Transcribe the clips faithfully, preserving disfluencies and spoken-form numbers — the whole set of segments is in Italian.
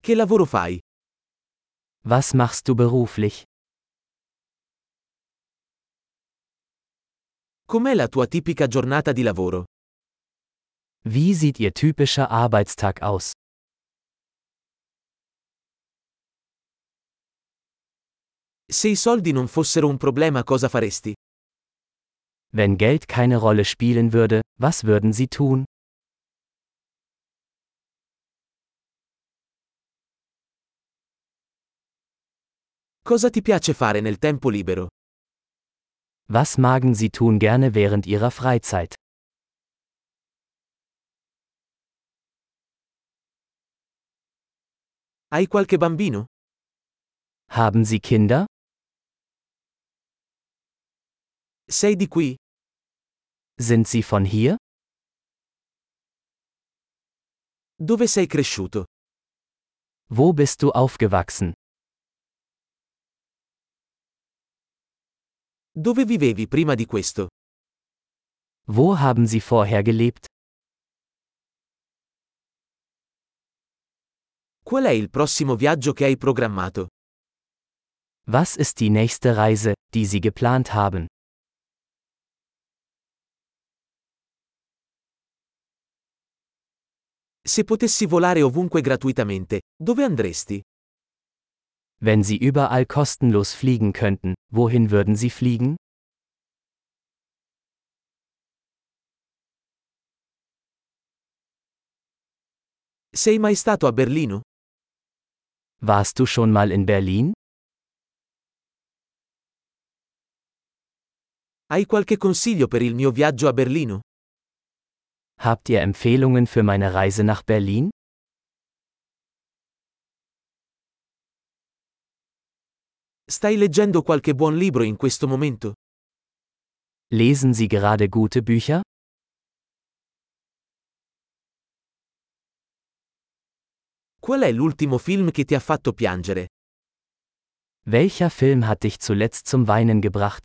Che lavoro fai? Was machst du beruflich? Com'è la tua tipica giornata di lavoro? Wie sieht Ihr typischer Arbeitstag aus? Se i soldi non fossero un problema, cosa faresti? Wenn Geld keine Rolle spielen würde, was würden Sie tun? Cosa ti piace fare nel tempo libero? Was magen Sie tun gerne während Ihrer Freizeit? Hai qualche bambino? Haben Sie Kinder? Sei di qui? Sind Sie von hier? Dove sei cresciuto? Wo bist du aufgewachsen? Dove vivevi prima di questo? Wo haben Sie vorher gelebt? Qual è il prossimo viaggio che hai programmato? Was ist die nächste Reise, die Sie geplant haben? Se potessi volare ovunque gratuitamente, dove andresti? Wenn Sie überall kostenlos fliegen könnten, wohin würden Sie fliegen? Sei mai stato a Berlino? Warst du schon mal in Berlin? Hai qualche consiglio per il mio viaggio a Berlino? Habt ihr Empfehlungen für meine Reise nach Berlin? Stai leggendo qualche buon libro in questo momento? Lesen Sie gerade gute Bücher? Qual è l'ultimo film che ti ha fatto piangere? Welcher Film hat dich zuletzt zum Weinen gebracht?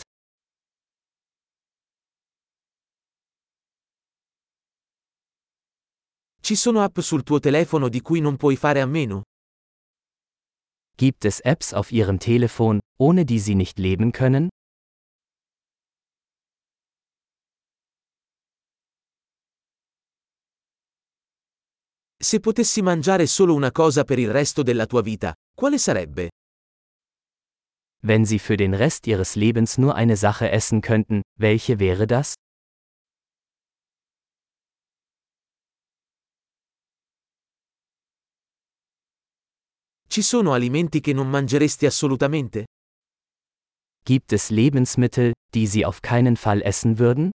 Ci sono app sul tuo telefono di cui non puoi fare a meno? Gibt es Apps auf Ihrem Telefon, ohne die Sie nicht leben können? Se potessi mangiare solo una cosa per il resto della tua vita, quale sarebbe? Wenn Sie für den Rest Ihres Lebens nur eine Sache essen könnten, welche wäre das? Ci sono alimenti che non mangeresti assolutamente? Gibt es Lebensmittel, die Sie auf keinen Fall essen würden?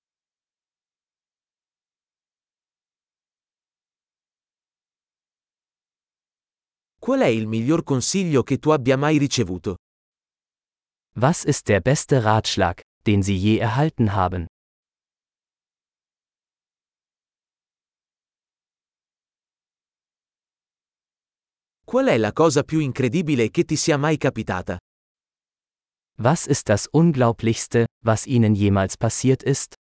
Qual è il miglior consiglio che tu abbia mai ricevuto? Was ist der beste Ratschlag, den Sie je erhalten haben? Qual è la cosa più incredibile che ti sia mai capitata? Was ist das Unglaublichste, was Ihnen jemals passiert ist?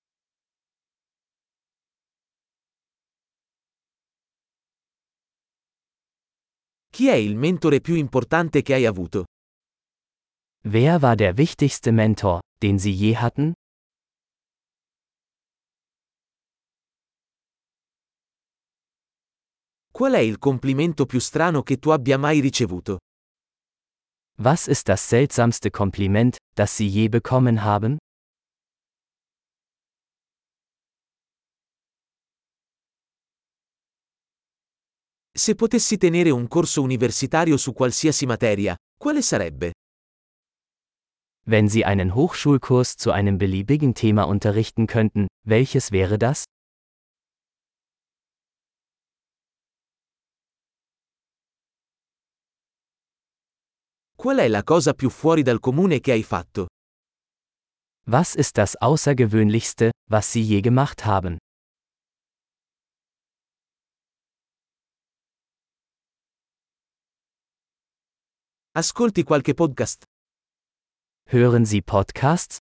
Chi è il mentore più importante che hai avuto? Wer war der wichtigste Mentor, den Sie je hatten? Qual è il complimento più strano che tu abbia mai ricevuto? Was ist das seltsamste Kompliment, das Sie je bekommen haben? Se potessi tenere un corso universitario su qualsiasi materia, quale sarebbe? Wenn Sie einen Hochschulkurs zu einem beliebigen Thema unterrichten könnten, welches wäre das? Qual è la cosa più fuori dal comune che hai fatto? Was ist das Außergewöhnlichste, was Sie je gemacht haben? Ascolti qualche podcast? Hören Sie Podcasts?